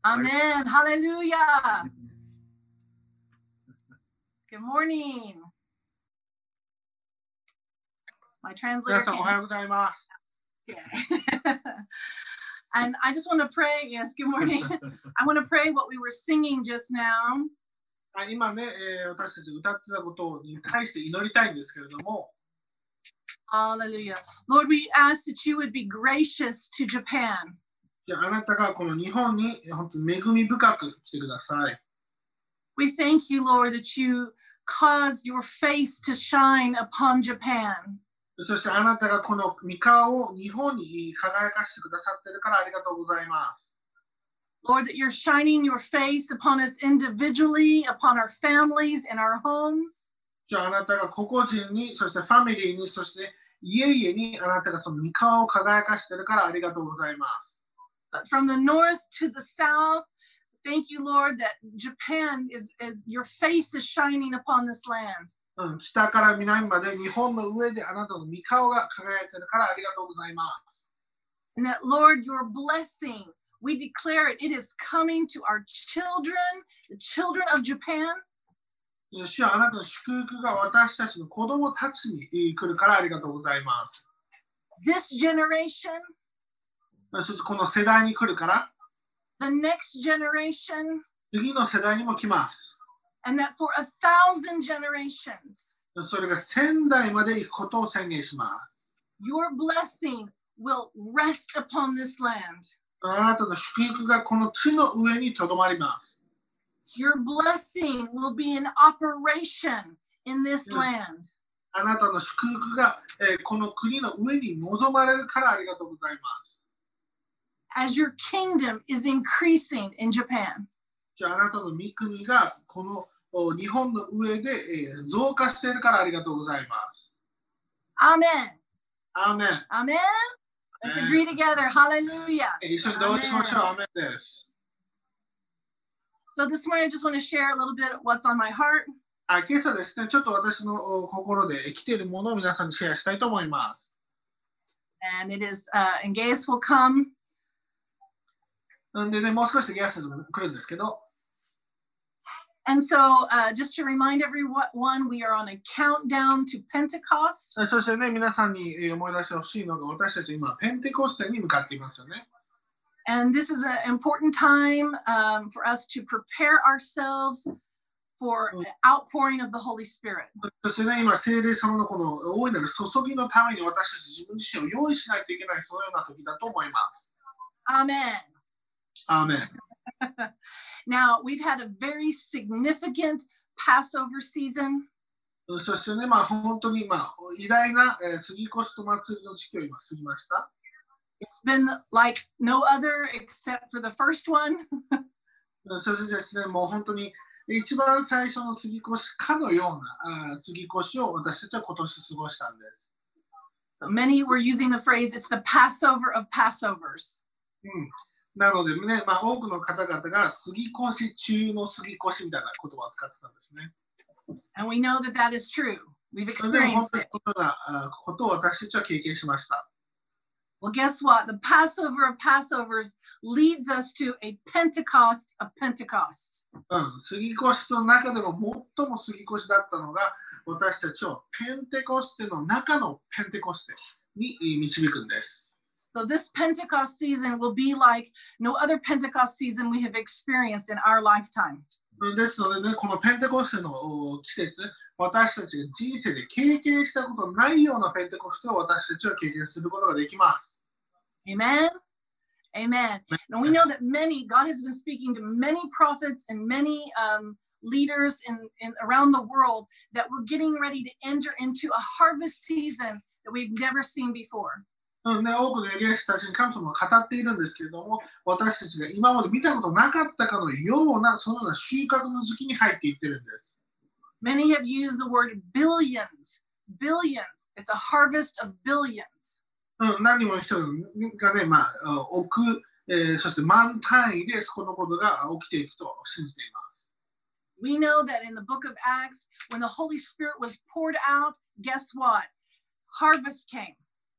Amen. Hallelujah. Good morning. My translator. 皆さんおはようございます。 And I just want to pray. Yes, good morning. I want to pray what we were singing just now. 今ね、私たち歌ってたことに対して祈りたいんですけれども。 Hallelujah. Lord, we ask that you would be gracious to Japan. じゃあ、あなたがこの日本に本当に恵み深く来てください。 We thank you, Lord, that you caused your face to shine upon Japan. そしてあなたがこの御顔を日本に輝かしてくださっているからありがとうございます。 Lord, that you're shining your face upon us individually, upon our families and our homes. じゃあ、あなたが個々人に、そしてファミリーに、そして家々にあなたがその御顔を輝かしているからありがとうございます。 But from the north to the south, thank you, Lord, that Japan is your face is shining upon this land. 北から南まで日本の上であなたの御顔が輝いているからありがとうございます。 And that, Lord, your blessing, we declare it, it is coming to our children, the children of Japan. 主はあなたの祝福が私たちの子供たちに来るからありがとうございます。 This generation, そしてこの世代に来るから、 the next generation, 次の世代にも来ます。 And that for 1,000 generations, それが1000代まで行くことを宣言します。 Your blessing will rest upon this land. あなたの祝福がこの地の上にとどまります。 Your blessing will be in operation in this land. あなたの祝福が、この国の上に望まれるからありがとうございます。 As your kingdom is increasing in Japan. じゃあ、あなたの御国がこの日本の上で増加しているからありがとうございます。 アーメン。 アーメン。 アーメン。Let's agree together. Hallelujah. 一緒に同意しましょう。アーメンです。 So this morning I just want to share a little bit of what's on my heart. 今朝ですね、ちょっと私の心で生きているものを皆さんにシェアしたいと思います。 And it is, and Gaius will come. でね、もう少しでゲストも来るんですけど。 And so, just to remind everyone, we are on a countdown to Pentecost. そしてね、皆さんに思い出してほしいのが、私たち今、ペンテコステに向かっていますよね。 And this is an important time for us to prepare ourselves for an outpouring of the Holy Spirit. そしてね、今、聖霊様のこの大いなる注ぎのために私たち自分自身を用意しないといけないそのような時だと思います。 Amen. Amen. Now, we've had a very significant Passover season. そしてね、本当に偉大な杉越と祭りの時期を今過ぎました。 It's been like no other except for the first one. そしてですね、もう本当に一番最初の杉越かのような杉越を私たちは今年過ごしたんです。 Many were using the phrase, it's the Passover of Passovers. なのでね、多くの方々が杉越中の杉越みたいな言葉を使ってたんですね。 And we know that that is true. We've それでも本 experienced 当に it. そのようなことを私たちは経験しました。 Well, guess what? The Passover of Passovers leads us to a Pentecost of Pentecosts. 杉越の中でも最も杉越だったのが私たちをペンテコステの中のペンテコステに導くんです。 So this Pentecost season will be like no other Pentecost season we have experienced in our lifetime. ですのでね、このペンテコステの季節、私たちが人生で経験したことないようなペンテコステを私たちは経験することができます。 Amen. Amen. And we know that God has been speaking to many prophets and many leaders in around the world that we're getting ready to enter into a harvest season that we've never seen before. 多くのエリア人たちに神様が語っているんですけれども、私たちが今まで見たことなかったかのような、そのような収穫の時期に入っていってるんです。 Many have used the word billions. Billions. It's a harvest of billions. 何人もの人がね、そして万単位でこのことが起きていくと信じています。 We know that in the book of Acts, when the Holy Spirit was poured out, guess what? Harvest came.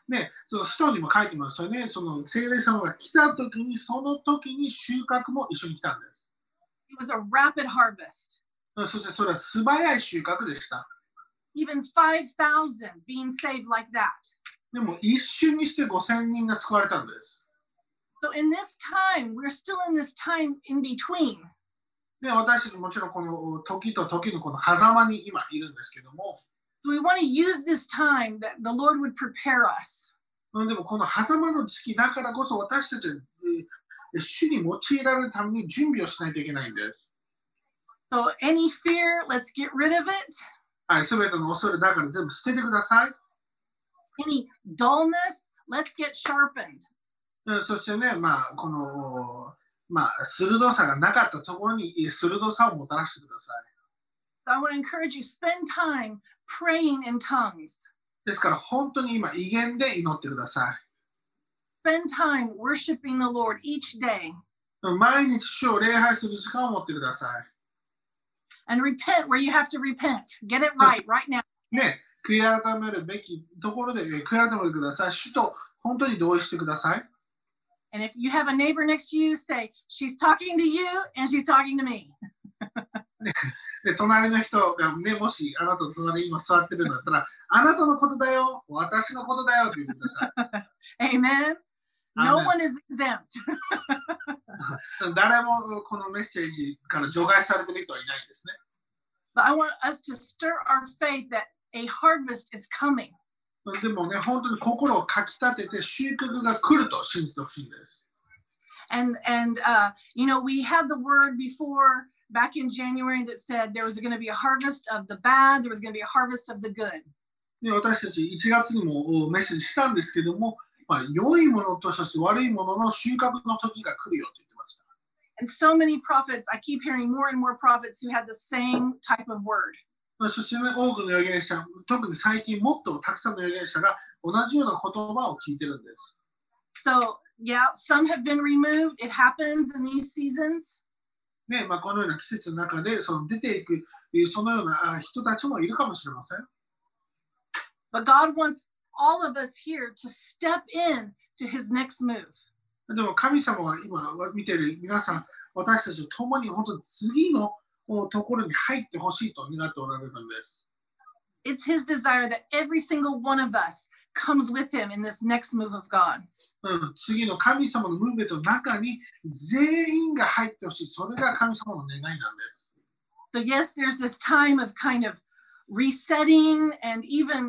ね、その使徒にも書いてますよね。その聖霊様が来た時に、その時に収穫も一緒に来たんです。 It was a rapid harvest. そしてそれは素早い収穫でした。 Even 5,000 being saved like that. でも一瞬にして5000人が救われたんです。 So in this time, we're still in this time in between. で、私たちもちろんこの時と時のこの狭間に今いるんですけども。 So we want to use this time that the Lord would prepare us. でもこの狭間の時期だからこそ私たちは主に用いられるために準備をしないといけないんです。 So any fear, let's get rid of it. はい、すべての恐れだから全部捨ててください。 Any dullness, let's get sharpened. そしてね、この、鋭さがなかったところに鋭さをもたらしてください。 So I want to encourage you, spend time praying in tongues. ですから本当に今、威厳で祈ってください。Spend time worshiping the Lord each day. 毎日主を礼拝する時間を持ってください。 And repent where you have to repent. Get it right now. ね、悔い改めるべきところで悔い改めてください。主と本当に同意してください。 And if you have a neighbor next to you, say, she's talking to you and she's talking to me. で、隣の人がね、もしあなたの隣に今座ってるんだったら、あなたのことだよ、私のことだよって言ってください。Amen. No one is exempt. 誰もこのメッセージから除外されている人はいないんですね。 But I want us to stir our faith that a harvest is coming. でもね、本当に心をかきたてて収穫が来ると信じてほしいんです。 And you know, we had the word before back in January that said there was going to be a harvest of the bad, there was going to be a harvest of the good. で、私たち1月にもメッセージしたんですけども、良いものとそして悪いものの収穫の時が来るよと言ってました。 And so many prophets, I keep hearing more and more prophets who had the same type of word. そしてね、多くの預言者、特に最近もっとたくさんの預言者が同じような言葉を聞いてるんです。 So, yeah, some have been removed. It happens in these seasons. ね、このような季節の中で出ていく、そのような人たちもいるかもしれません。 But God wants all of us here to step in to his next move. でも神様は今見ている皆さん、私たちと共に本当に次のところに入ってほしいと願っておられるんです。 It's his desire that every single one of us comes with him in this next move of God. 次の神様のムーブメントの中に全員が入ってほしい。それが神様の願いなんです。 So yes, there's this time of kind of resetting and even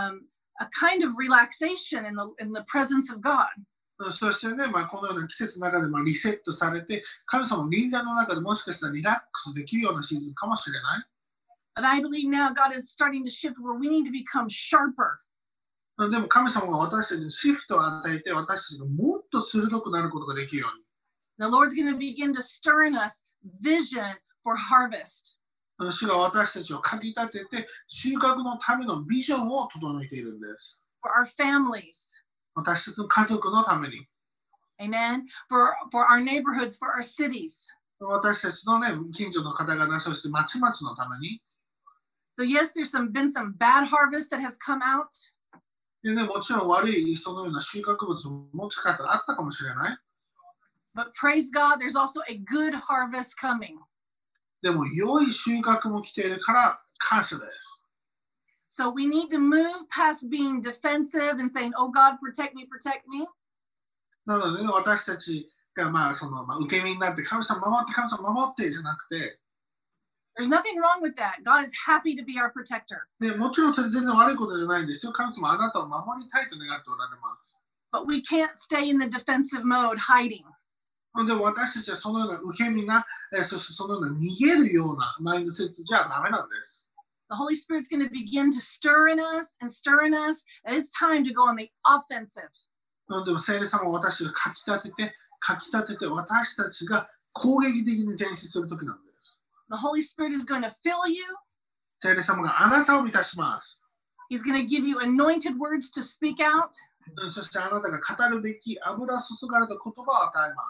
a kind of relaxation in the presence of God. そしてね、このような季節の中でリセットされて、神様の臨在の中でもしかしたらリラックスできるようなシーズンかもしれない。 But I believe now God is starting to shift where we need to become sharper. でも神様が私たちにシフトを与えて、私たちがもっと鋭くなることができるように。 The Lord's going to begin to stir in us vision for harvest. 主が私たちをかきたてて、収穫のためのビジョンを整えているんです。 For our families. 私たちの家族のために。 Amen. For our neighborhoods, for our cities. 私たちのね、近所の方々、そして町々のために。 So yes, there's been some bad harvest that has come out. でね、もちろん悪いそのような収穫物もしかしたらあったかもしれない。 But praise God, there's also a good harvest coming. でも良い収穫も来ているから感謝です。 So we need to move past being defensive and saying, "Oh God, protect me, protect me." なので、ね、私たちが受け身になって神様守って神様守ってじゃなくて。 There's nothing wrong with that. God is happy to be our protector. ね、もちろんそれ全然悪いことじゃないんですよ。神様あなたを守りたいと願っておられます。 But we can't stay in the defensive mode, hiding. でも私たちはそのような受け身な、そしてそのような逃げるようなマインドセットじゃダメなんです。 The Holy Spirit's going to begin to stir in us, and it's time to go on the offensive. でも聖霊様は私たちがかきたてて私たちが攻撃的に前進するときなんです。 The Holy Spirit is going to fill you. 聖霊様があなたを満たします。 He's going to give you anointed words to speak out. そしてあなたが語るべき油注がれた言葉を与えます。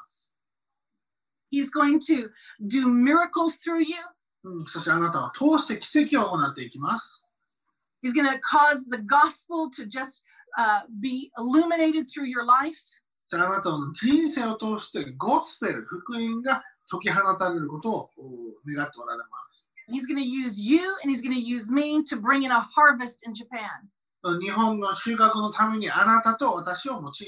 He's going to do miracles through you. そしてあなたを通して奇跡を行っていきます。 He's going to cause the gospel to just be illuminated through your life. じゃあ、あなたの人生を通してゴスペル、福音が解き放たれることを願っておられます。 He's going to use you and he's going to use me to bring in a harvest in Japan. 日本の収穫のためにあなたと私を用います。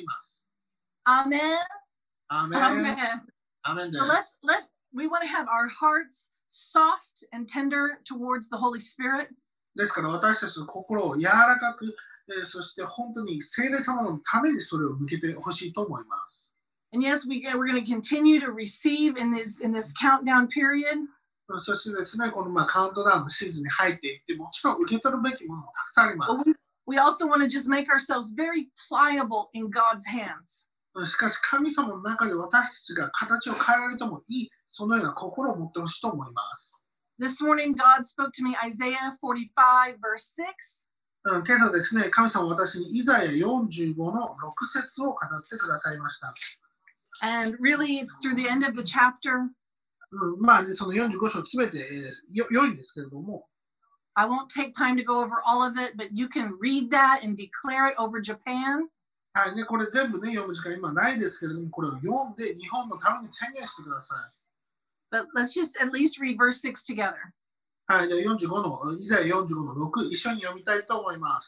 Amen. アーメン。 Amen. アーメンで So す。 we want to have our hearts soft and tender towards the Holy Spirit. ですから私たちの心を柔らかく、そして本当に聖霊様のためにそれを向けてほしいと思います。 And yes, we're going to continue to receive in this countdown period. そしてですね、このカウントダウンのシーズンに入っていって、もちろん受け取るべきものもたくさんありま But す。 we also want to just make ourselves very pliable in God's hands. しかし神様の中で私たちが形を変えられてもいい、そのような心を持ってほしいと思います。 This morning, God spoke to me Isaiah 45, verse 6. 今朝ですね、神様は私にイザヤ45の6節を語ってくださいました。 And really, it's through the end of the chapter. その45章すべて良いんですけれども、 I won't take time to go over all of it, but you can read that and declare it over Japan. はいね、これ全部ね、読む時間今ないですけれども、これを読んで日本のために宣言してください。 But let's just at least read verse 6 together. はい、じゃあ45の、イザヤ45の6、一緒に読みたいと思います。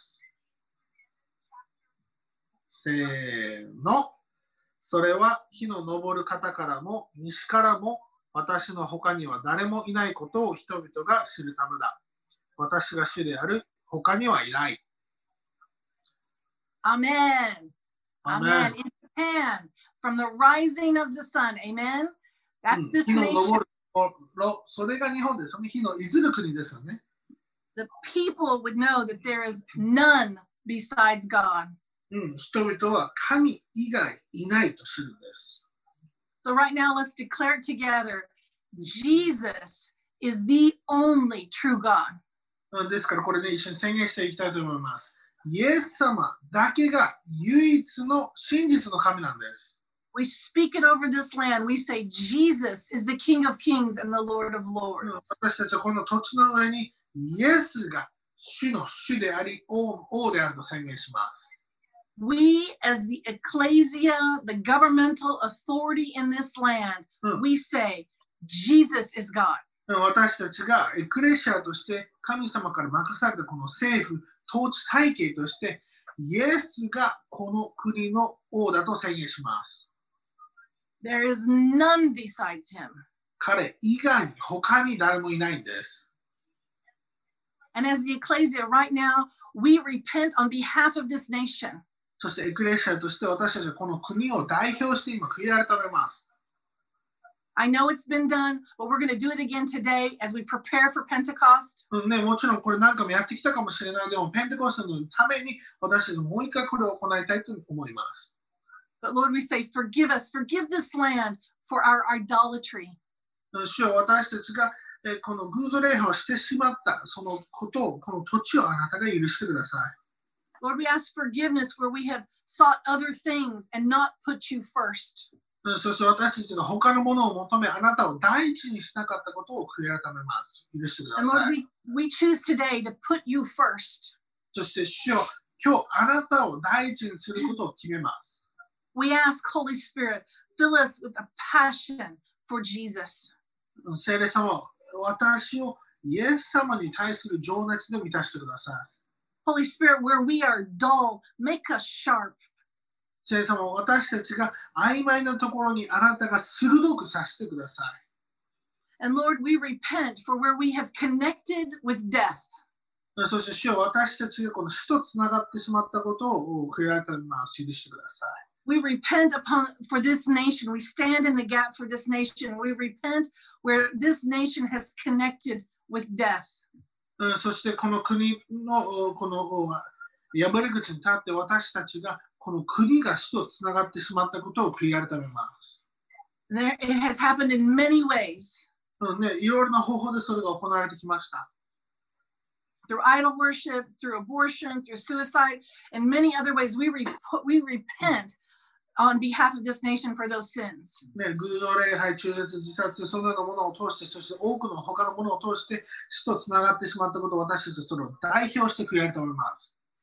せーの。それは火の昇る方からも西からも私の他には誰もいないことを人々が知るためだ。私が主である他にはいない。 Amen. Amen. In Japan, from the rising of the sun. Amen. That's this 火の昇 nation. るそれが日本ですよね。火のいずる国ですよね。 The people would know that there is none besides God. 人々は神以外いないと知るんです。 So right now, let's declare it together. Jesus is the only true God. ですからこれで一緒に宣言していきたいと思います。イエス様だけが唯一の真実の神なんです。 We speak it over this land. We say Jesus is the King of Kings and the Lord of Lords. 私たちはこの土地の上にイエスが主の主であり王であると宣言します。 We, as the ecclesia, the governmental authority in this land, we say Jesus is God. 私たちがエクレシアとして神様から任されたこの政府、統治体系としてイエスがこの国の王だと宣言します。 There is none besides him. 彼以外に他に誰もいないんです。 And as the ecclesia right now, we repent on behalf of this nation. そしてエクレシアとして私たちはこの国を代表して今悔い改めます。 I know it's been done, but we're going to do it again today as we prepare for Pentecost. もちろんこれ何回もやってきたかもしれないでもペンテコステのために私たちもう一回これを行いたいと思います。 But Lord, we say, forgive us, forgive this land for our idolatry. 主よ、私たちがこの偶像礼拝をしてしまったそのことを、この土地をあなたが許してください。 Lord, we ask forgiveness where we have sought other things and not put you first. そして私たちが他のものを求め、あなたを第一にしなかったことを悔い改めます。許してくだ And さ Lord, い。 we choose today to put you first. そして主よ、今日あなたを第一にすることを決めます。 We ask, Holy Spirit, fill us with a passion for Jesus. 聖霊様、私をイエス様に対する情熱で満たしてください。 Holy Spirit, where we are dull, make us sharp. 聖霊様、私たちが曖昧なところにあなたが鋭くさせてください。 And Lord, we repent for where we have connected with death. そして主よ、私たちがこの死とつながってしまったことを悔い改めます。許してください。 We repent for this nation. We stand in the gap for this nation. We repent where this nation has connected with death. そしてこの国のこの破り口に立って私たちがこの国が死とつながってしまったことを悔い改めます。 It has happened in many ways. いろいろな方法でそれが行われてきました。 Through idol worship, through abortion, through suicide, and many other ways, we repent on behalf of this nation for those sins. 偶像礼拝、中絶、自殺、そのようなものを通して、そして多くの他のものを通して死とつながってしまったことを私たちはそれを代表して悔い改めます。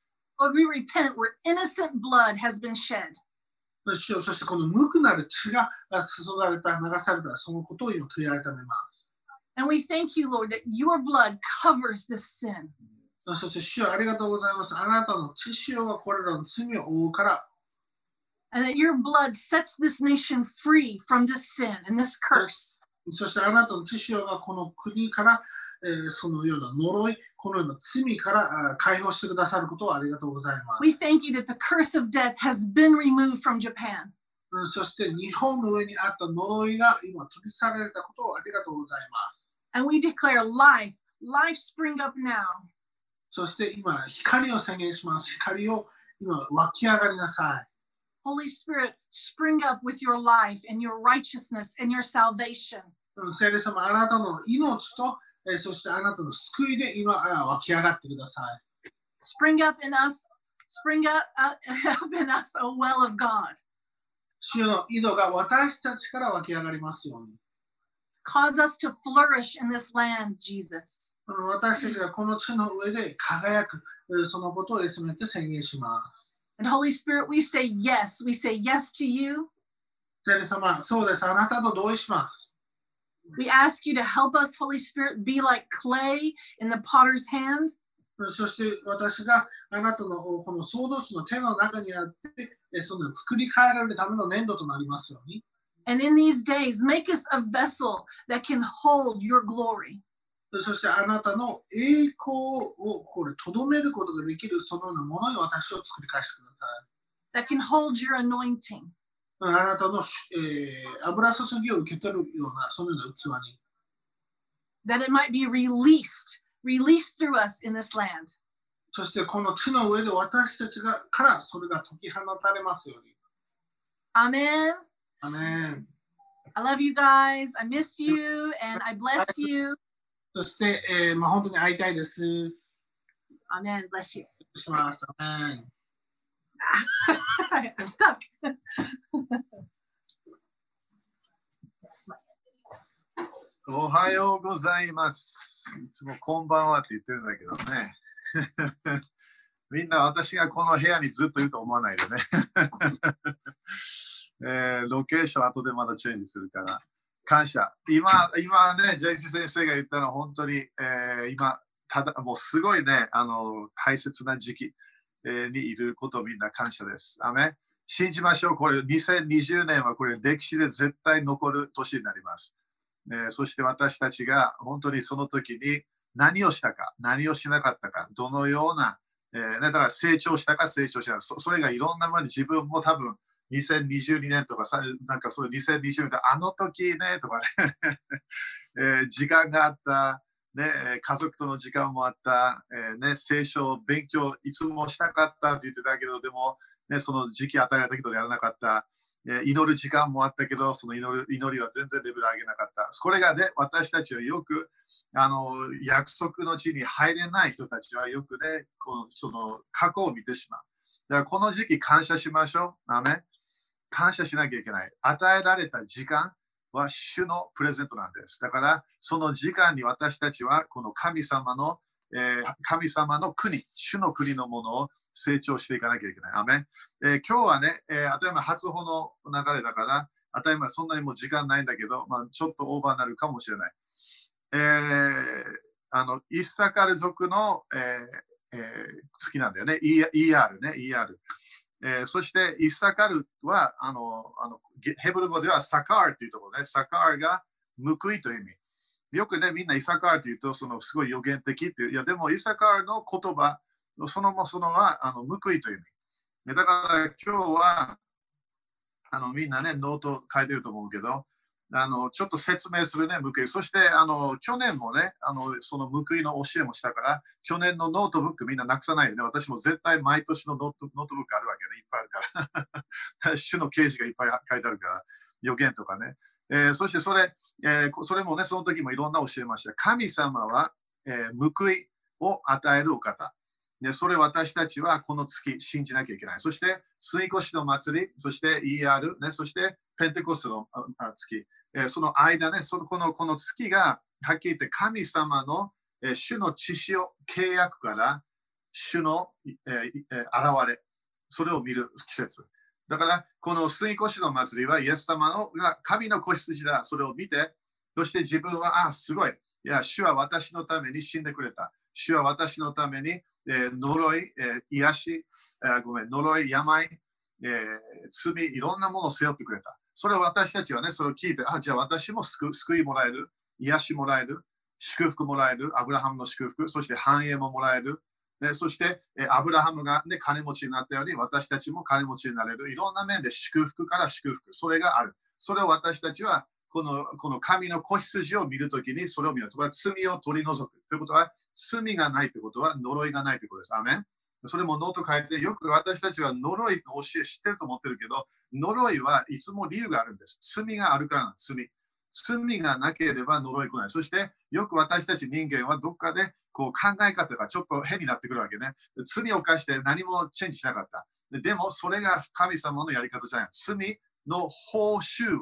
Lord, we repent where innocent blood has been shed. 主よ、そしてこの無垢なる血が注がれた、流された、そのことを今悔い改めます。 And we thank you, Lord, that your blood covers this sin. そして主よ、ありがとうございます。あなたの血潮はこれらの罪を覆うから。 And that your blood sets this nation free from this sin and this curse. そしてあなたの血潮がこの国から、そのような呪い、このような罪から解放してくださることをありがとうございます。 We thank you that the curse of death has been removed from Japan. そして日本の上にあった呪いが今取り去られたことをありがとうございます。 And we declare life, life spring up now. そして今、光を宣言します。光を今湧き上がりなさい。 Holy Spirit, spring up with your life and your righteousness and your salvation. 聖霊様、あなたの命と、そしてあなたの救いで今湧き上がってください。 Spring up in us, a well of God. 主の井戸が私たちから湧き上がりますように。 Cause us to flourish in this land, Jesus. 私たちがこの地の上で輝く、そのことをせめて宣言します。 And Holy Spirit, we say yes. We say yes to you. 聖霊様、そうです。あなたと同意します。 We ask you to help us, Holy Spirit, be like clay in the potter's hand. そして私があなたのこの創造主の手の中にあって、その作り変えられるための粘土となりますように。 And in these days, make us a vessel that can hold your glory. そしてあなたの栄光をこれとどめることができるそのようなものに私を作り返してください。 That can hold your anointing. あなたの、油注ぎを受け取るようなそのような器に。 That it might be released through us in this land. そしてこの地の上で私たちからそれが解き放たれますように。 Amen. Amen. I love you guys. I miss you and I bless you. そして、本当に会いたいです。 Amen. Bless you. します。Amen. I'm stuck. おはようございます。いつもこんばんはって言ってるんだけどね。みんな私がこの部屋にずっといると思わないでね。ロケーション後でまだチェンジするから。感謝。今ね、ジェイス先生が言ったのは本当に、今、もうすごいね、大切な時期、にいることをみんな感謝です。アメン。信じましょう。これ2020年はこれ歴史で絶対残る年になります。そして私たちが本当にその時に何をしたか、何をしなかったか、どのような、だから成長したか成長しないか、それがいろんなものに自分も多分2022年とかなんかそういう2020年あの時ねとかね、時間があった、ね、家族との時間もあった、ね、聖書勉強いつもしたかったって言ってたけど、でも、ね、その時期与えられたけどやらなかった。祈る時間もあったけど、その祈りは全然レベル上げなかった。これがね、私たちはよく約束の地に入れない人たちはよくね、その過去を見てしまう。だからこの時期感謝しましょう。アメン。感謝しなきゃいけない。与えられた時間は主のプレゼントなんです。だからその時間に私たちはこの神様の国、主の国のものを成長していかなきゃいけない。アメン。今日はね、当たり前初歩の流れだから、当たり前そんなにもう時間ないんだけど、ちょっとオーバーになるかもしれない。イッサカル族の、好きなんだよね。ER ね、ER。そしてイッサカルはヘブル語ではサカーというところね。サカーが報いという意味。よくね、みんなイッサカーというとすごい予言的っていう。いや、でもイッサカーの言葉、そのは報いという意味。だから今日はみんなね、ノート書いてると思うけど、ちょっと説明するね、報い。そして去年もね、その報いの教えもしたから、去年のノートブックみんななくさないでね。私も絶対毎年のノートブックあるわけね、いっぱいあるから。主の啓示がいっぱい書いてあるから、予言とかね。そしてそれもね、その時もいろんな教えました。神様は、報いを与えるお方。でそれ私たちはこの月信じなきゃいけない。そして、水越の祭り、そして ER、ね、そしてペンテコステの月。その間ね、この月がはっきり言って神様の主の血潮契約から主の、現れ、それを見る季節。だから、この杉越の祭りは、イエス様のが神の子羊だ、それを見て、そして自分は、すごい。いや、主は私のために死んでくれた。主は私のために、呪い、癒し、呪い、病、罪、いろんなものを背負ってくれた。それを私たちはね、それを聞いて、じゃあ私も救いもらえる、癒しもらえる、祝福もらえる、アブラハムの祝福、そして繁栄ももらえる。そして、アブラハムが、ね、金持ちになったように、私たちも金持ちになれる。いろんな面で祝福から祝福、それがある。それを私たちは、この神の子羊を見るときに、それを見るとは罪を取り除く。ということは、罪がないということは、呪いがないということです。アメン。それもノート書いて、よく私たちは呪いの教え知ってると思ってるけど、呪いはいつも理由があるんです。罪があるから罪。罪がなければ呪い来ない。そして、よく私たち人間はどっかでこう考え方がちょっと変になってくるわけね。罪を犯して何もチェンジしなかった。でも、それが神様のやり方じゃない。罪の報酬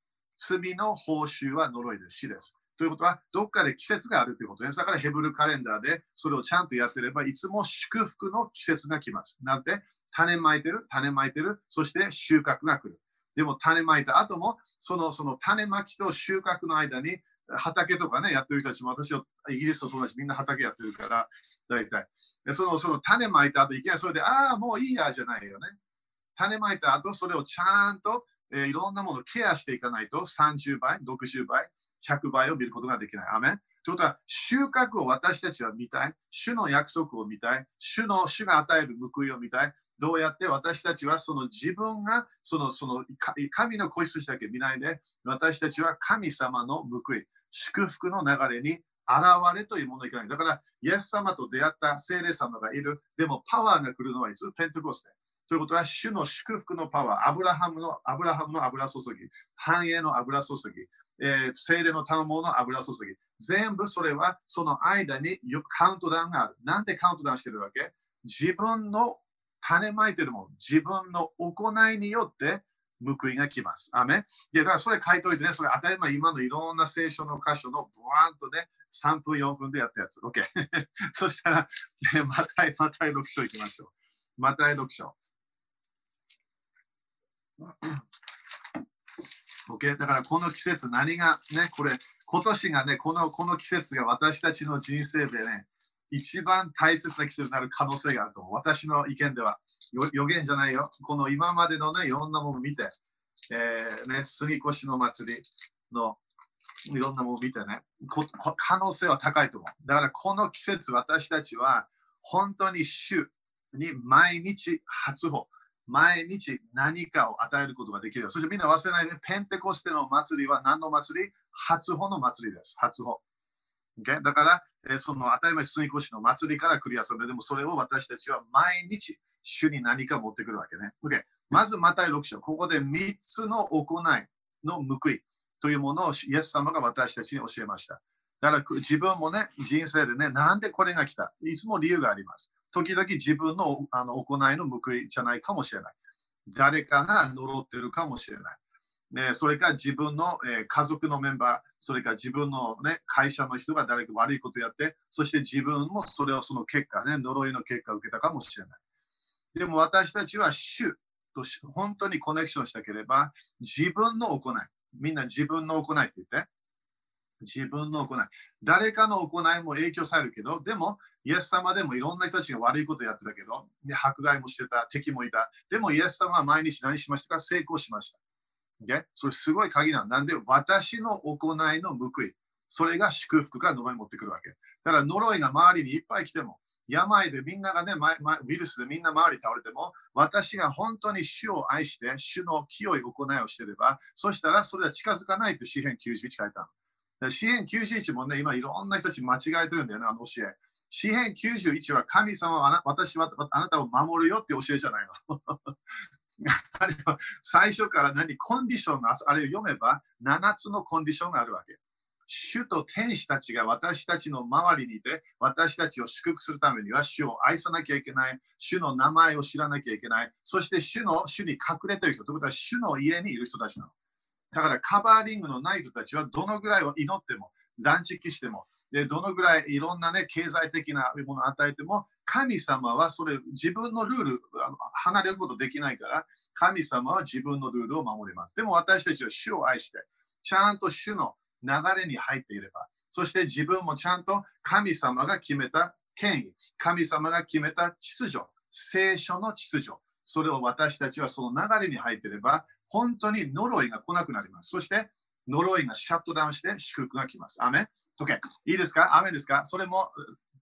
は呪いです。死です。ということは、どっかで季節があるということです。だからヘブルカレンダーでそれをちゃんとやってれば、いつも祝福の季節が来ます。なぜ種まいてる、そして収穫が来る。でも種まいた後も、その種まきと収穫の間に、畑とかね、やってる人たちも、私はイギリスと友達みんな畑やってるから、大体。その種まいた後、いきなりそれで、もういいやじゃないよね。種まいた後、それをちゃんと、いろんなものをケアしていかないと、30倍、60倍、100倍を見ることができない。アメン。ということは、収穫を私たちは見たい。主の約束を見たい。主が与える報いを見たい。どうやって私たちはその自分が神の子羊だけ見ないで、私たちは神様の報い、祝福の流れに現れというものにいかない。だから、イエス様と出会った聖霊様がいる。でも、パワーが来るのはいつ？ペンテコステ。ということは、主の祝福のパワー、アブラハムの油注ぎ、繁栄の油注ぎ、聖霊の賜物の油注ぎ。全部それはその間にカウントダウンがある。なんでカウントダウンしてるわけ？自分の種まいてるもの、自分の行いによって報いが来ます。アメン。だからそれ書いておいてね、それ当たり前、今のいろんな聖書の箇所のブワーンとね、3分、4分でやったやつ。OK。そしたら、マタイ6章行きましょう。マタイ6章。OK。だからこの季節、何がね、今年がね、この季節が私たちの人生でね、一番大切な季節になる可能性があると思う。私の意見では。予言じゃないよ。この今までのね、いろんなものを見て、杉越の祭りのいろんなものを見てね、可能性は高いと思う。だからこの季節、私たちは本当に主に毎日初歩、毎日何かを与えることができる。そしてみんな忘れないで、ペンテコステの祭りは何の祭り？初歩の祭りです。初歩。Okay? だから、その当たり前杉越の祭りからクリアするので、でもそれを私たちは毎日主に何か持ってくるわけね。Okay? まずマタイ6章。ここで3つの行いの報いというものをイエス様が私たちに教えました。だから自分もね、人生でね、なんでこれが来た？いつも理由があります。時々自分の行いの報いじゃないかもしれない。誰かが呪ってるかもしれない。それから自分の家族のメンバー、それから自分の、ね、会社の人が誰か悪いことをやって、そして自分もその結果、ね、呪いの結果を受けたかもしれない。でも私たちは主と本当にコネクションしたければ、自分の行い、みんな自分の行いって言って、自分の行い。誰かの行いも影響されるけど、でも、イエス様でもいろんな人たちが悪いことをやってたけど、迫害もしてた、敵もいた。でも、イエス様は毎日何しましたか？成功しました。それすごい鍵なんで、私の行いの報い、それが祝福から呪い持ってくるわけ。だから呪いが周りにいっぱい来ても、病でみんながね、ウイルスでみんな周り倒れても、私が本当に主を愛して、主の清い行いをしていれば、そしたらそれは近づかないって詩編91書いたの。詩編91もね、今いろんな人たち間違えてるんだよね、教え。詩編91は神様は私はあなたを守るよって教えじゃないの。あれは最初からコンディションがあれを読めば7つのコンディションがあるわけ。主と天使たちが私たちの周りにいて、私たちを祝福するためには主を愛さなきゃいけない。主の名前を知らなきゃいけない。そして主に隠れている人ということは主の家にいる人たちなの。だからカバーリングのない人たちはどのぐらいを祈っても、断食しても、どのぐらいいろんな、ね、経済的なものを与えても、 神様はそれ自分のルール離れることできないから、神様は自分のルールを守ります。でも私たちは主を愛して、ちゃんと主の流れに入っていれば、そして自分もちゃんと神様が決めた権威、神様が決めた秩序、聖書の秩序、それを私たちはその流れに入っていれば、本当に呪いが来なくなります。そして呪いがシャットダウンして祝福が来ます。アメン ?OK。いいですか？アメンですか？それも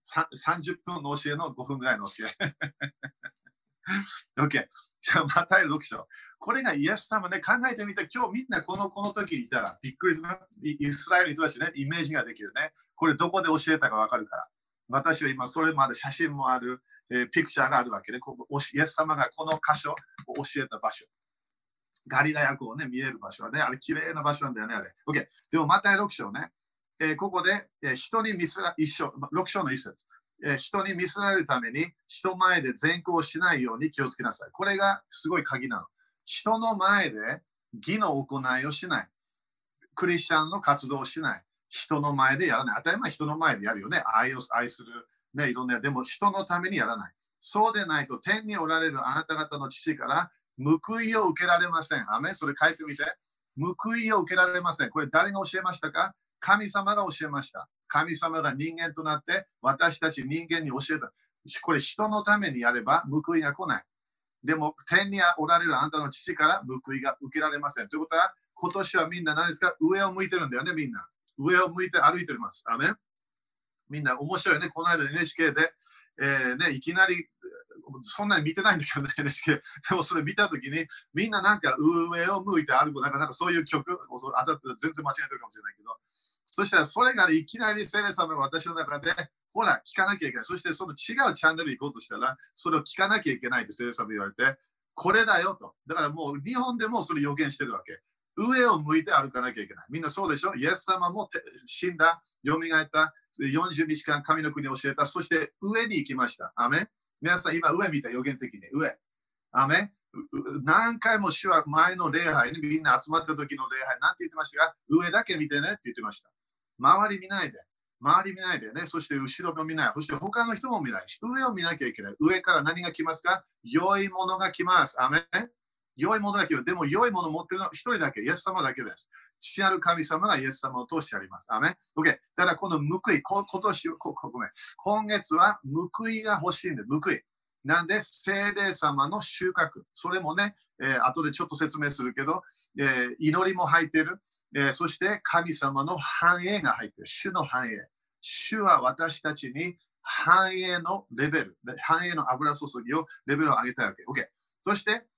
30分の教えの5分ぐらいの教え。OK。じゃあ、マタイ6章。これがイエス様ね、考えてみて、今日みんなこの時にいたら、びっくりな、イスラエルにいたしね、イメージができるね。これどこで教えたかわかるから。私は今、それまで写真もある、ピクチャーがあるわけで、イエス様がこの箇所を教えた場所。ガリラヤ湖をね、見える場所はね、あれ、綺麗な場所なんだよね、あれ。OK。でも、マタイ6章ね、ここで、人に見せられ、6章の一節。人に見せられるために人前で善行をしないように気をつけなさい。これがすごい鍵なの。人の前で義の行いをしない。クリスチャンの活動をしない。人の前でやらない。当たり前人の前でやるよね。愛する。ね、いろんな。でも人のためにやらない。そうでないと天におられるあなた方の父から報いを受けられません。アメンそれ書いてみて。報いを受けられません。これ誰が教えましたか？神様が教えました。神様が人間となって私たち人間に教えた。これ人のためにやれば報いが来ない。でも天におられるあなたの父から報いが受けられません。ということは今年はみんな何ですか？上を向いてるんだよね、みんな。上を向いて歩いてます。アメンみんな面白いね。この間 NHK で、いきなりそんなに見てないんだけどね、NHK。でもそれ見たときに、みんななんか上を向いて歩く、なんかそういう曲、全然間違えてるかもしれないけど、そしたらそれがいきなり聖霊様が私の中で、ほら、聞かなきゃいけない。そしてその違うチャンネル行こうとしたら、それを聞かなきゃいけないって聖霊様言われて、これだよと。だからもう日本でもそれ予言してるわけ。上を向いて歩かなきゃいけない。みんなそうでしょ？イエス様も死んだ、蘇った、40日間神の国を教えた、そして上に行きました。アメン皆さん今上見た予言的に上。アメン何回も主は前の礼拝にみんな集まった時の礼拝なんて言ってましたか？上だけ見てねって言ってました。周り見ないで。周り見ないでね。そして後ろも見ない。そして他の人も見ないし。上を見なきゃいけない。上から何が来ますか？良いものが来ます。アメン良いものが来る。でも良いものを持っているのは一人だけ。イエス様だけです。父なる神様がイエス様を通してあります。アメン OK。だからこの報い、今月は報いが欲しいんで、報い。なんで、聖霊様の収穫。それもね、後でちょっと説明するけど、祈りも入っている。そして神様の繁栄が入っている。主の繁栄。主は私たちに繁栄のレベル、繁栄の油注ぎをレベルを上げたいわけ。OK。そして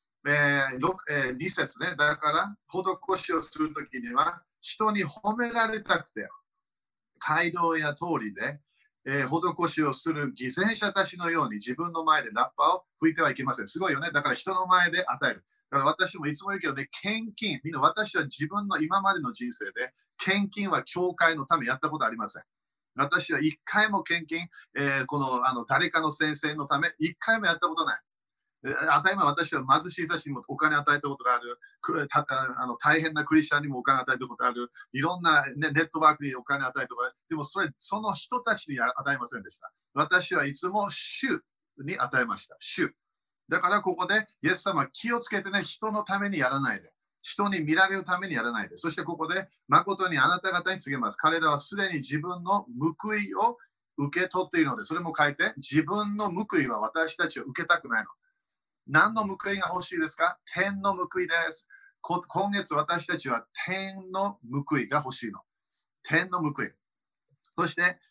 、2節ね。だから、施しをするときには、人に褒められたくて、街道や通りで、施しをする偽善者たちのように自分の前でラッパを吹いてはいけません。すごいよね。だから人の前で与える。だから私もいつも言うけどね、献金、みんな私は自分の今までの人生で、献金は教会のためやったことありません。私は一回も献金、誰かの先生のため、一回もやったことない。当たり前私は貧しい人たちにもお金与えたことがある。大変なクリスチャンにもお金与えたことがある。いろんな、ネットワークにお金与えたことがある。でもその人たちに与えませんでした。私はいつも主に与えました。主。だからここで、イエス様は気をつけてね、人のためにやらないで。人に見られるためにやらないで。そしてここで、誠にあなた方に告げます。彼らはすでに自分の報いを受け取っているので、それも書いて、自分の報いは私たちは受けたくないの。何の報いが欲しいですか？天の報いです。今月私たちは天の報いが欲しいの。天の報い。そして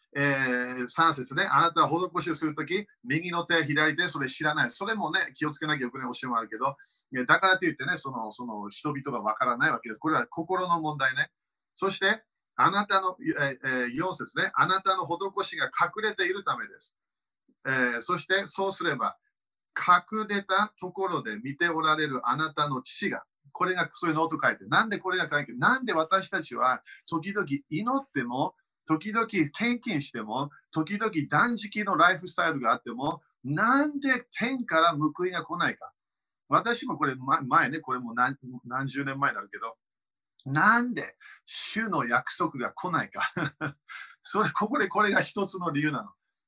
、3節ね。あなたは施しをするとき、右の手、左手、それ知らない。それもね、気をつけなきゃいけない教えもあるけど、だからといってね、その人々がわからないわけです。これは心の問題ね。そして、あなたの、4節ね。あなたの施しが隠れているためです。そして、そうすれば、隠れたところで見ておられるあなたの父が、これがそういうノート書いて、なんでこれが書いて、なんで私たちは時々祈っても、時々献金しても、時々断食のライフスタイルがあっても、なんで天から報いが来ないか。私もこれ前ね、これも何十年前になるけど、なんで主の約束が来ないか。これが一つの理由なの。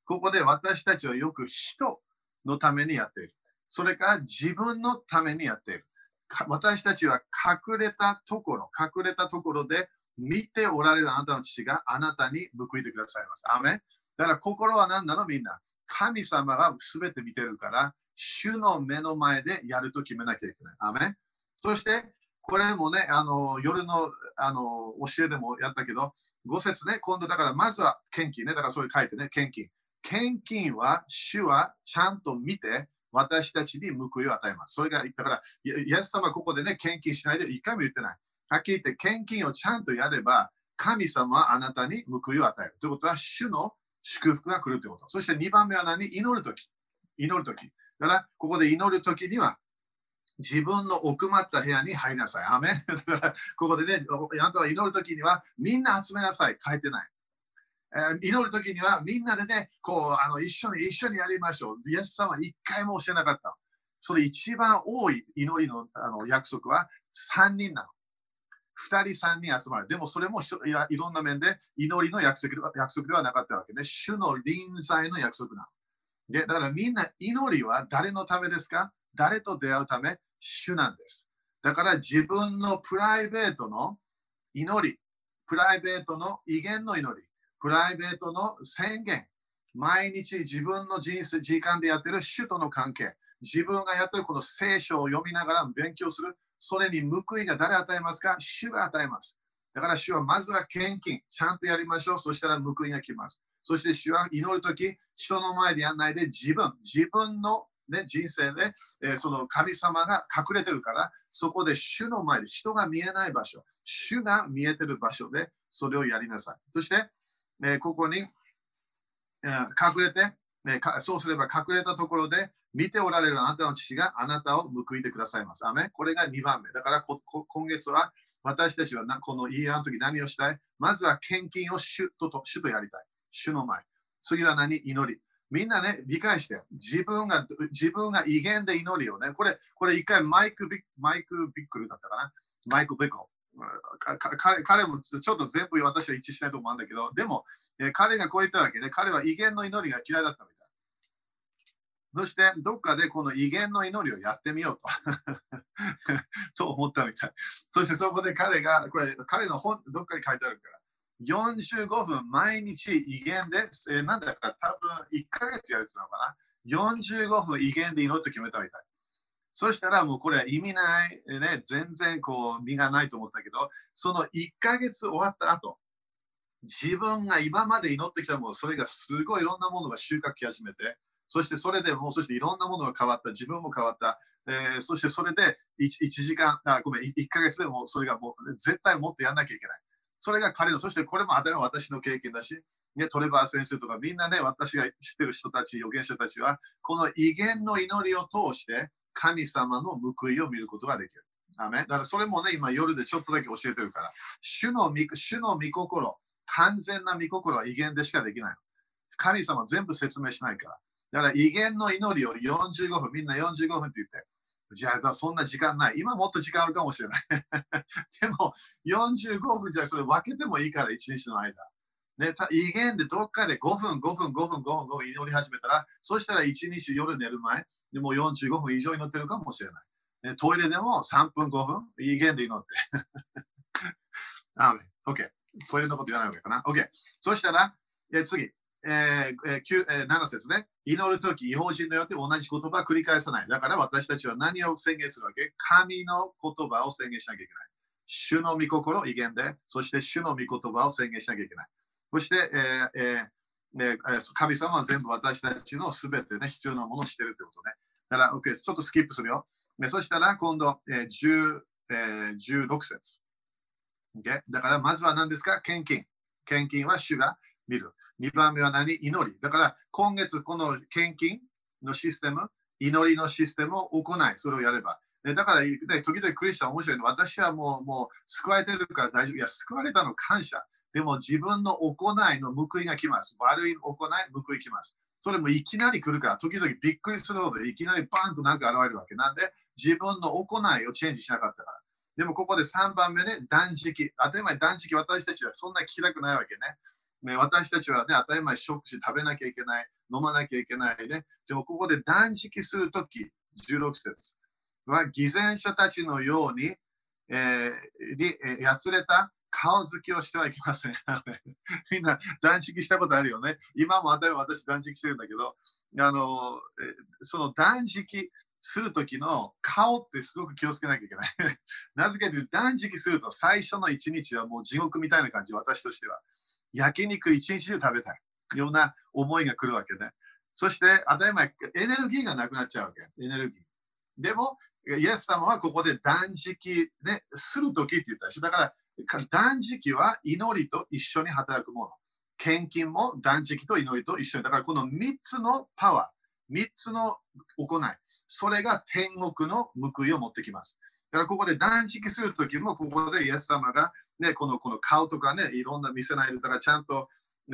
ここで私たちはよく人のためにやっている。それから自分のためにやっている。私たちは隠れたところで見ておられるあなたの父があなたに報いてくださいます。アメン。だから心は何なのみんな。神様が全て見てるから、主の目の前でやると決めなきゃいけない。アメン。そして、これもね、夜の教えでもやったけど、5節ね、今度だからまずは献金ね、だからそういう書いてね、献金。献金は主はちゃんと見て、私たちに報いを与えます。それが、だから、イエス様はここでね、献金しないで一回も言ってない。はっきり言って、献金をちゃんとやれば、神様はあなたに報いを与える。ということは、主の祝福が来るということ。そして2番目は何？祈るとき。祈るとき。だから、ここで祈るときには、自分の奥まった部屋に入りなさい。アメン。だからここでね、あなたは祈るときには、みんな集めなさい。書いてない。祈るときにはみんなでね、一緒にやりましょう。イエス様は一回も教えなかった。それ一番多い祈りの、約束は3人なの。2人3人集まる。でもそれもいろんな面で祈りの約束ではなかったわけね。主の臨在の約束なの。だからみんな祈りは誰のためですか？誰と出会うため？主なんです。だから自分のプライベートの祈り、プライベートの威厳の祈り、プライベートの宣言、毎日自分の時間でやっている主との関係、自分がやっているこの聖書を読みながら勉強する、それに報いが誰与えますか？主が与えます。だから主はまずは献金、ちゃんとやりましょう。そしたら報いが来ます。そして主は祈るとき、人の前でやらないで自分の、ね、人生で、その神様が隠れてるから、そこで主の前で人が見えない場所、主が見えてる場所でそれをやりなさい。そして、ここに、隠れて、そうすれば隠れたところで見ておられるあなたの父があなたを報いてくださいます。アメン。これが2番目。だから今月は私たちはこのイヤーの時何をしたい？まずは献金を主とやりたい。主の前。次は何？祈り。みんなね、理解して、自分が威厳で祈りをね、これ一回マイク・ビックルだったかな。マイク・ビックル。彼もちょっと全部私は一致しないと思うんだけど、でも、彼がこう言ったわけで、彼は威厳の祈りが嫌いだったみたい。そして、どっかでこの威厳の祈りをやってみようとと思ったみたい。そしてそこで彼の本、どっかに書いてあるから、45分毎日威厳で、なんだか多分1ヶ月やるってのかな。45分威厳で祈ると決めたみたい。そしたらもうこれは意味ない、ね、全然こう身がないと思ったけど、その1ヶ月終わった後、自分が今まで祈ってきたもの、それがすごいいろんなものが収穫し始めて、そしてそれでもう、そしていろんなものが変わった、自分も変わった、そしてそれで1時間、1ヶ月でもそれがもう絶対もっとやんなきゃいけない。それが彼の、そしてこれも当たり前私の経験だし、ね、トレバー先生とかみんなね、私が知ってる人たち、預言者たちは、この威厳の祈りを通して、神様の報いを見ることができる。アメン。だからそれもね、今夜でちょっとだけ教えてるから、主の御心、完全な御心は威厳でしかできない。神様全部説明しないから。だから威厳の祈りを45分、みんな45分って言って、じゃあそんな時間ない。今もっと時間あるかもしれない。でも45分じゃそれ分けてもいいから、一日の間。ね、威厳でどっかで5分祈り始めたら、そしたら一日夜寝る前、でも45分以上祈ってるかもしれない。トイレでも3分、5分、威厳で祈って。OK。トイレのこと言わないわけかな。OK。そしたら、次、7節ね。祈るとき、違法人のよって同じ言葉を繰り返さない。だから私たちは何を宣言するわけ？神の言葉を宣言しなきゃいけない。主の御心、威厳で、そして主の御言葉を宣言しなきゃいけない。そして、神様は全部私たちのすべてね、必要なものをしているということね。だから、OK、ちょっとスキップするよ。そしたら、今度、16節。Okay? だから、まずは何ですか？献金。献金は主が見る。2番目は何？祈り。だから、今月、この献金のシステム、祈りのシステムを行い、それをやれば。だから、時々クリスチャン面白いの。私はもう救われてるから大丈夫。いや、救われたの感謝。でも自分の行いの報いが来ます。悪い行い、報い来ます。それもいきなり来るから、時々びっくりするので、いきなりバンとなんか現れるわけ。なんで、自分の行いをチェンジしなかったから。でもここで3番目ね、断食。当たり前断食、私たちはそんなに嫌くないわけね。 ね、私たちはね、当たり前食事食べなきゃいけない、飲まなきゃいけないね。でもここで断食するとき、16節は、偽善者たちのように、やつれた顔つきをしてはいけません。みんな断食したことあるよね。今も私断食してるんだけど、その断食するときの顔ってすごく気をつけなきゃいけない。なぜかというと、断食すると最初の1日はもう地獄みたいな感じ、私としては。焼肉一日中食べたい。ような思いが来るわけね。そして、当たり前、エネルギーがなくなっちゃうわけ。エネルギー。でも、イエス様はここで断食、ね、するときって言ったでしょ。だから、断食は祈りと一緒に働くもの。献金も断食と祈りと一緒に。だから、この3つのパワー、3つの行い、それが天国の報いを持ってきます。だから、ここで断食するときも、ここでイエス様が、ね、この顔とかね、いろんな見せないで、だからちゃんと、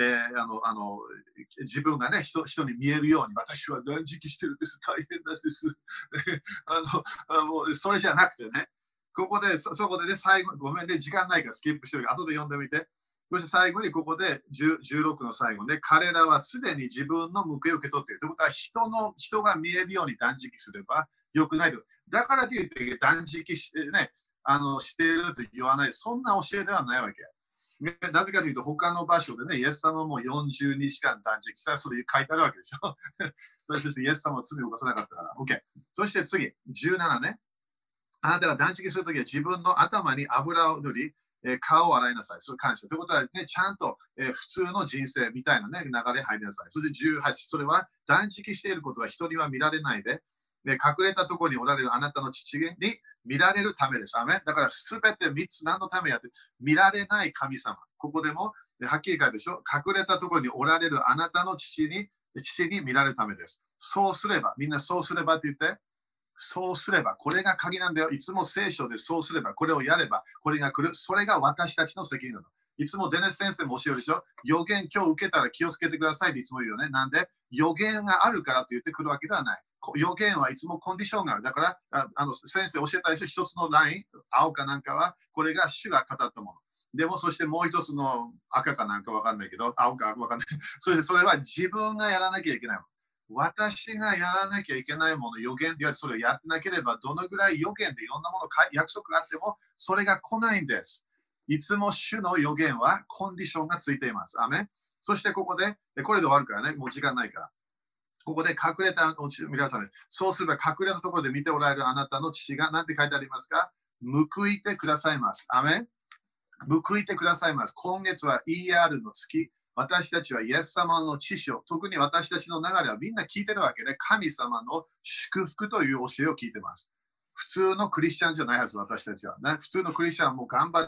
自分がね人に見えるように、私は断食してるんです、大変です。もうそれじゃなくてね、ここで、そこでね、最後、ごめんね、時間ないからスキップしてるから、後で読んでみて。そして最後にここで16の最後で、彼らはすでに自分の報いを受け取っている。ということは人が見えるように断食すればよくないと。だからといって断食して、ね、していると言わない、そんな教えではないわけ。なぜかというと、他の場所でね、イエス様も40日間断食したらそれ書いてあるわけでしょ。そしてイエス様は罪を犯さなかったから。OK。そして次、17ね。あなたが断食するときは自分の頭に油を塗り、顔を洗いなさい。それ感謝。ということは、ね、ちゃんと、普通の人生みたいな、ね、流れ入りなさい。それで18、それは断食していることは人には見られないで、隠れたところにおられるあなたの父に見られるためです。アメだからすべて3つ何のためやって、見られない神様。ここでもはっきり書いてでしょ。隠れたところにおられるあなたの父に見られるためです。そうすれば、みんなそうすればって言って、そうすれば、これが鍵なんだよ。いつも聖書でそうすれば、これをやれば、これが来る。それが私たちの責任なの。いつもデネス先生も教えるでしょ。予言今日受けたら気をつけてくださいっていつも言うよね。なんで、予言があるからと言ってくるわけではない。予言はいつもコンディションがある。だから、先生教えたでしょ。一つのライン、青かなんかは、これが主が語ったもの。でも、そしてもう一つの赤かなんかわかんないけど、青かわかんない。それは自分がやらなきゃいけないもの。私がやらなきゃいけないもの、予言でそれをやってなければ、どのぐらい予言でいろんなもの、約束があっても、それが来ないんです。いつも主の予言はコンディションがついています。アメン。そしてここで、これで終わるからね、もう時間ないから。ここで隠れたお家を見られるため、そうすれば隠れたところで見ておられるあなたの父が何て書いてありますか？報いてくださいます。アメン。報いてくださいます。今月は ER の月。私たちはイエス様の知識を、特に私たちの流れはみんな聞いてるわけで、神様の祝福という教えを聞いてます。普通のクリスチャンじゃないはず、私たちは。ね、普通のクリスチャンはもう頑張って、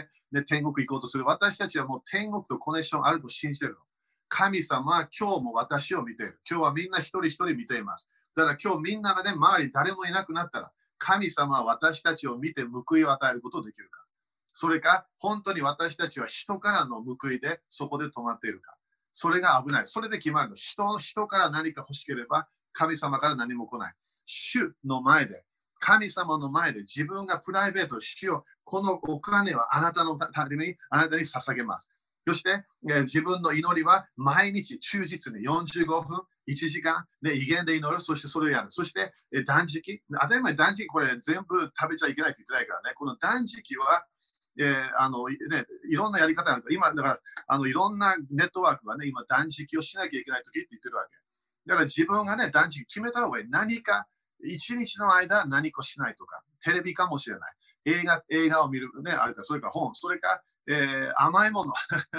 ね、天国行こうとする。私たちはもう天国とコネクションあると信じてるの。神様は今日も私を見ている。今日はみんな一人一人見ています。だから今日みんながね、周り誰もいなくなったら、神様は私たちを見て報いを与えることができるか。それか、本当に私たちは人からの報いでそこで止まっているか。それが危ない。それで決まるの。人から何か欲しければ、神様から何も来ない。主の前で、神様の前で自分がプライベート、主よ、このお金はあなたのために、あなたに捧げます。そして、自分の祈りは毎日忠実に45分、1時間で威厳で祈る。そしてそれをやる。そして、断食。当たり前断食、これ全部食べちゃいけないって言ってないからね。この断食は、いろんなやり方があるから、今、だからいろんなネットワークはね、今、断食をしなきゃいけないときって言ってるわけ。だから自分がね、断食決めた方がいい。何か、一日の間何かしないとか、テレビかもしれない。映画を見るね、あるか、それから本、それか、甘いもの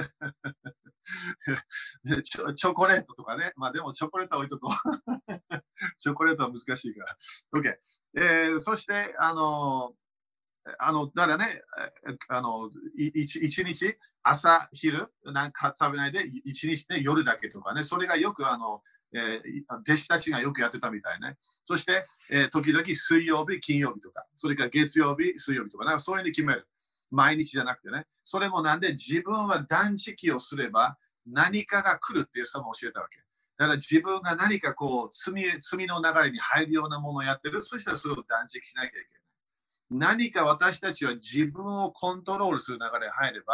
チョコレートとかね。まあでもチョコレートは置いとこう。チョコレートは難しいから。OK。そして、だからね、一日、朝、昼、なんか食べないで、一日で夜だけとかね、それがよく弟子たちがよくやってたみたいね。そして、時々水曜日、金曜日とか、それから月曜日、水曜日とか、なんかそういうふうに決める。毎日じゃなくてね。それもなんで自分は断食をすれば何かが来るっていう人も教えたわけ。だから自分が何かこう罪の流れに入るようなものをやってる、そしたらそれを断食しなきゃいけない。何か私たちは自分をコントロールする流れに入れば、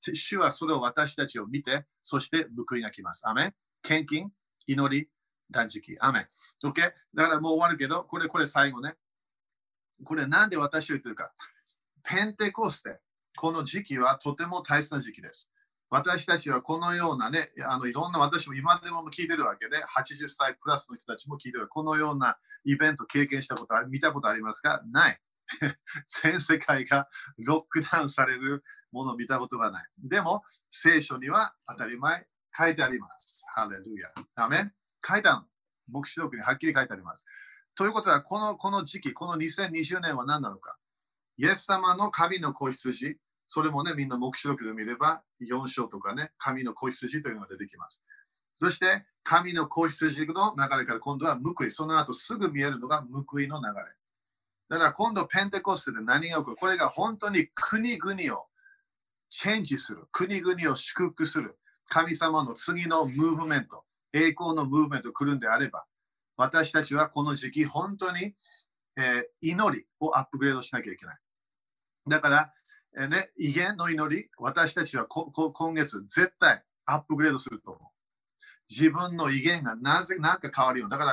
主はそれを私たちを見て、そして報いが来ます。アメン。献金、祈り、断食。アメン。OK? だからもう終わるけど、これ最後ね。これなんで私を言ってるか。ペンテコステ、この時期はとても大切な時期です。私たちはこのようなね、いろんな私も今でも聞いてるわけで、80歳プラスの人たちも聞いてる。このようなイベント経験したこと見たことありますか？ない。全世界がロックダウンされるものを見たことがない。でも、聖書には当たり前書いてあります。ハレルヤ。アメン。書いてある。黙示録にはっきり書いてあります。ということは、この時期、この2020年は何なのか？イエス様の神の子羊、それもね、みんな黙示録で見れば、4章とかね、神の子羊というのが出てきます。そして、神の子羊の流れから今度は報い、その後すぐ見えるのが報いの流れ。だから今度ペンテコステで何が起こる？これが本当に国々をチェンジする。国々を祝福する。神様の次のムーブメント、栄光のムーブメントが来るんであれば、私たちはこの時期本当に、祈りをアップグレードしなきゃいけない。だから、威厳の祈り、私たちは今月絶対アップグレードすると思う。自分の威厳がなんか変わるよ。だから、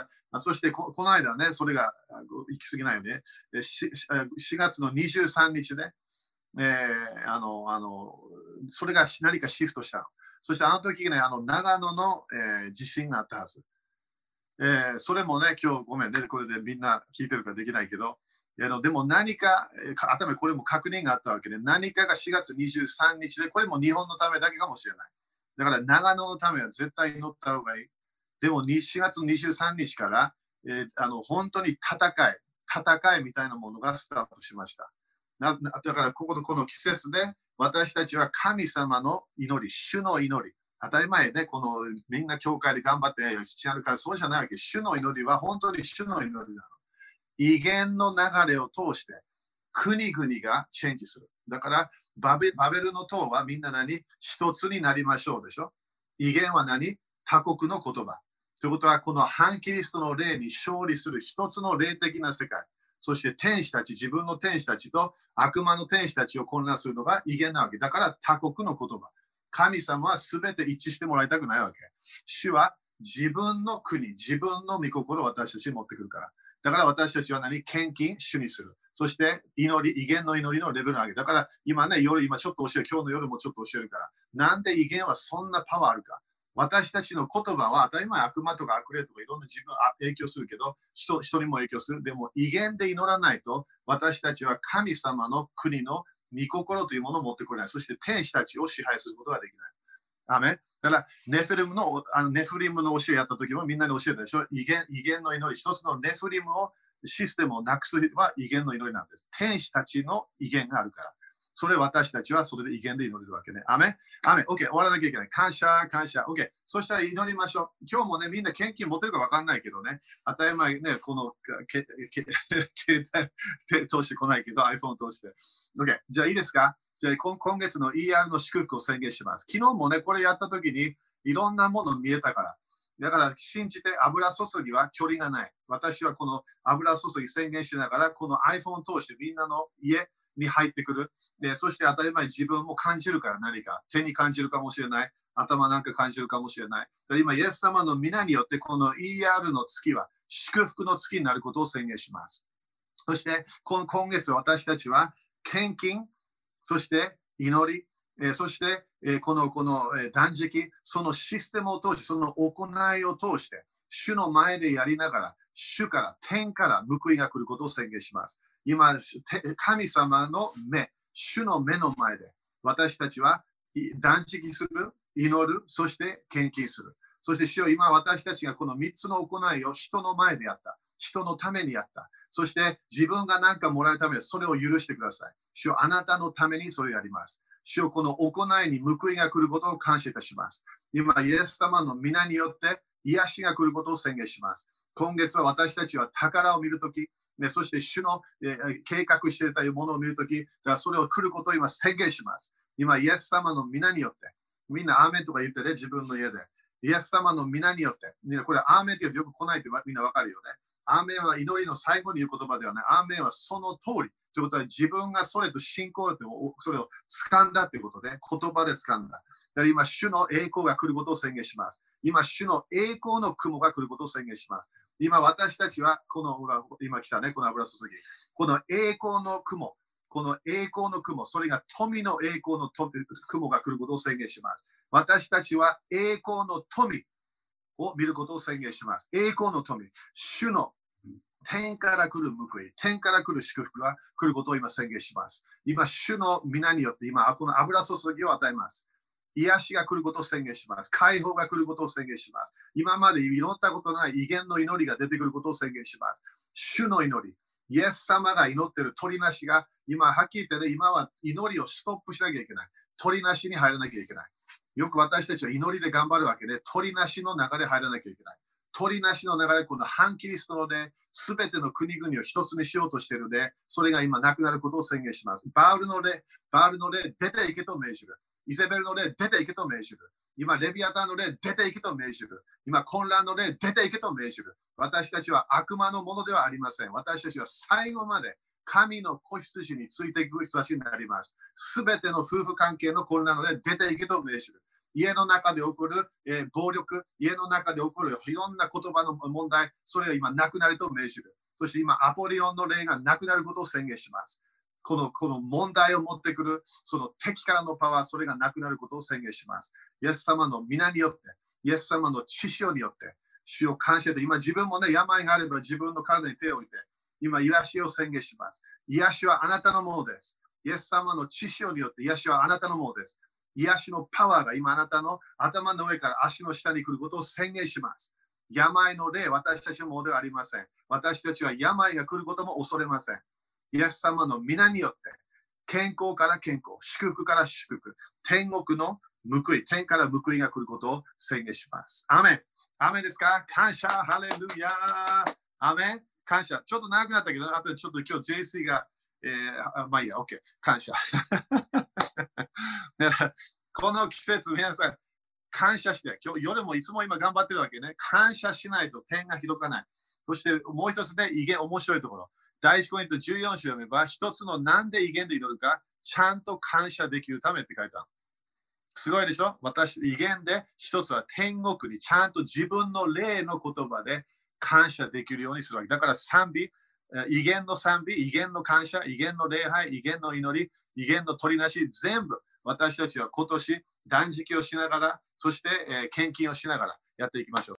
そしてこの間ね、それが行き過ぎないよね。4月の23日で、それが何かシフトしたの。そしてあの時ね、長野の、地震があったはず。それもね、今日ごめんね、これでみんな聞いてるからできないけど、でも何か、頭これも確認があったわけで、何かが4月23日で、これも日本のためだけかもしれない。だから長野のためは絶対祈った方がいい。でも4月23日から、本当に戦いみたいなものがスタートしました。だからこの季節で私たちは神様の祈り、主の祈り。当たり前ね、みんな教会で頑張ってやるからそうじゃないわけ。主の祈りは本当に主の祈りなの。威厳の流れを通して国々がチェンジする。だからバベルの塔はみんな一つになりましょうでしょ。威厳は他国の言葉。ということはこの反キリストの霊に勝利する一つの霊的な世界。そして天使たち、自分の天使たちと悪魔の天使たちを混乱するのが威厳なわけ。だから他国の言葉。神様は全て一致してもらいたくないわけ。主は自分の国、自分の御心を私たちに持ってくるから。だから私たちは献金、主にする。そして祈り、威厳の祈りのレベルを上げる。だから今ね、今ちょっと教える。今日の夜もちょっと教えるから。なんで威厳はそんなパワーあるか。私たちの言葉は当たり前悪魔とか悪霊とかいろんな自分影響するけど、人にも影響する。でも威厳で祈らないと私たちは神様の国の御心というものを持ってこれない。そして天使たちを支配することができない。アメン。だからネフリムの教えやった時もみんなに教えたでしょ。威厳の祈り。一つのネフリムをシステムをなくすのは威厳の祈りなんです。天使たちの威厳があるから。それ私たちはそれで威厳で祈れるわけね。アメン。アメン。OK。終わらなきゃいけない。感謝。OK。そしたら祈りましょう。今日もね、みんな献金持ってるか分かんないけどね。当たり前ね、この携帯通してこないけど、iPhone 通して。OK。じゃあいいですか？じゃあ今月の ER の祝福を宣言します。昨日もね、これやったときにいろんなもの見えたから。だから信じて油注ぎは距離がない。私はこの油注ぎ宣言しながら、この iPhone を通してみんなの家に入ってくる。で、そして当たり前自分も感じるから何か。手に感じるかもしれない。頭なんか感じるかもしれない。今、イエス様の皆によってこの ER の月は祝福の月になることを宣言します。そして今月私たちは献金、そして祈り、そしてこの断食、そのシステムを通して、その行いを通して、主の前でやりながら、主から天から報いが来ることを宣言します。今、神様の目、主の目の前で、私たちは断食する、祈る、そして献金する。そして主よ、今私たちがこの3つの行いを人の前でやった。人のためにやった。そして自分が何かもらうためにそれを許してください。主よ、あなたのためにそれをやります。主よ、この行いに報いが来ることを感謝いたします。今、イエス様の皆によって癒しが来ることを宣言します。今月は私たちは宝を見るとき、そして主の、計画していたものを見るとき、それを来ることを今宣言します。今、イエス様の皆によって、みんなアーメンとか言ってね、自分の家で。イエス様の皆によって、これアーメンってよく来ないってみんなわかるよね。アーメンは祈りの最後に言う言葉ではない。アーメンはその通り。 ということは自分がそれと信仰でそれを掴んだということで、言葉で掴んだ。だから今、主の栄光が来ることを宣言します。今、主の栄光の雲が来ることを宣言します。今、私たちは、今来たね、この油注ぎ。この栄光の雲、それが富の栄光の雲が来ることを宣言します。私たちは栄光の富を見ることを宣言します。栄光の富、主の天から来る報い、天から来る祝福が来ることを今宣言します。今、主の皆によって今、この油注ぎを与えます。癒しが来ることを宣言します。解放が来ることを宣言します。今まで祈ったことのない威厳の祈りが出てくることを宣言します。主の祈り、イエス様が祈っている鳥なしが、今、はっきり言ってね、今は祈りをストップしなきゃいけない。鳥なしに入らなきゃいけない。よく私たちは祈りで頑張るわけで、鳥なしの流れ入らなきゃいけない。鳥なしの流れ、この反キリストので、すべての国々を一つにしようとしているで、それが今なくなることを宣言します。バールの霊、出ていけと命じる。イゼベルの霊、出ていけと命じる。今、レビアタンの霊、出ていけと命じる。今、混乱の霊、出ていけと命じる。私たちは悪魔のものではありません。私たちは最後まで神の子羊についていく人たちになります。すべての夫婦関係の混乱の霊、出ていけと命じる。家の中で起こる、暴力、家の中で起こるいろんな言葉の問題、それが今なくなると命じる。そして今、アポリオンの霊がなくなることを宣言します。この問題を持ってくる、その敵からのパワー、それがなくなることを宣言します。イエス様の皆によって、イエス様の血潮によって、主を感謝で、今自分もね、病があれば自分の体に手を置いて、今、癒しを宣言します。癒しはあなたのものです。イエス様の血潮によって、癒しはあなたのものです。癒しのパワーが今あなたの頭の上から足の下に来ることを宣言します。病の霊、私たちのものではありません。私たちは病が来ることも恐れません。イエス様の皆によって、健康から健康、祝福から祝福、天国の報い、天から報いが来ることを宣言します。アメン。アメンですか？感謝、ハレルヤー。アメン。感謝。ちょっと長くなったけど、あとちょっと今日 JC が、まあいいや、OK。感謝。この季節、皆さん、感謝して、今日夜もいつも今頑張ってるわけね。感謝しないと点が広かない。そしてもう一つね、威厳、面白いところ。第1コリント14章読めば、一つのなんで威厳で祈るか、ちゃんと感謝できるためって書いてある。すごいでしょ？威厳で一つは天国にちゃんと自分の霊の言葉で感謝できるようにするわけ。だから賛美、威厳の賛美、威厳の感謝、威厳の礼拝、威厳の祈り、威厳の取りなし、全部私たちは今年断食をしながら、そして献金をしながらやっていきましょう。